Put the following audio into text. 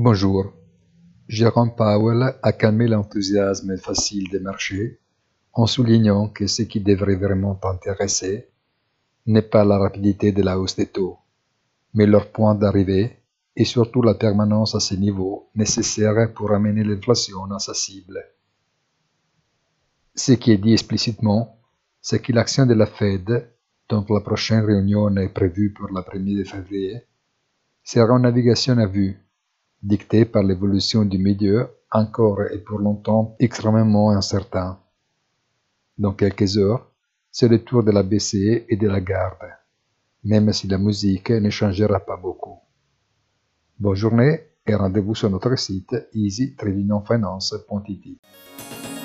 Bonjour. Jérôme Powell a calmé l'enthousiasme facile des marchés en soulignant que ce qui devrait vraiment t'intéresser n'est pas la rapidité de la hausse des taux, mais leur point d'arrivée et surtout la permanence à ces niveaux nécessaires pour amener l'inflation à sa cible. Ce qui est dit explicitement, c'est que l'action de la Fed, dont la prochaine réunion est prévue pour la 1er février, sera une navigation à vue, dictée par l'évolution du milieu encore et pour longtemps extrêmement incertain. Dans quelques heures, c'est le tour de la BCE et de la garde, même si la musique ne changera pas beaucoup. Bonne journée et rendez-vous sur notre site easy-finance.it.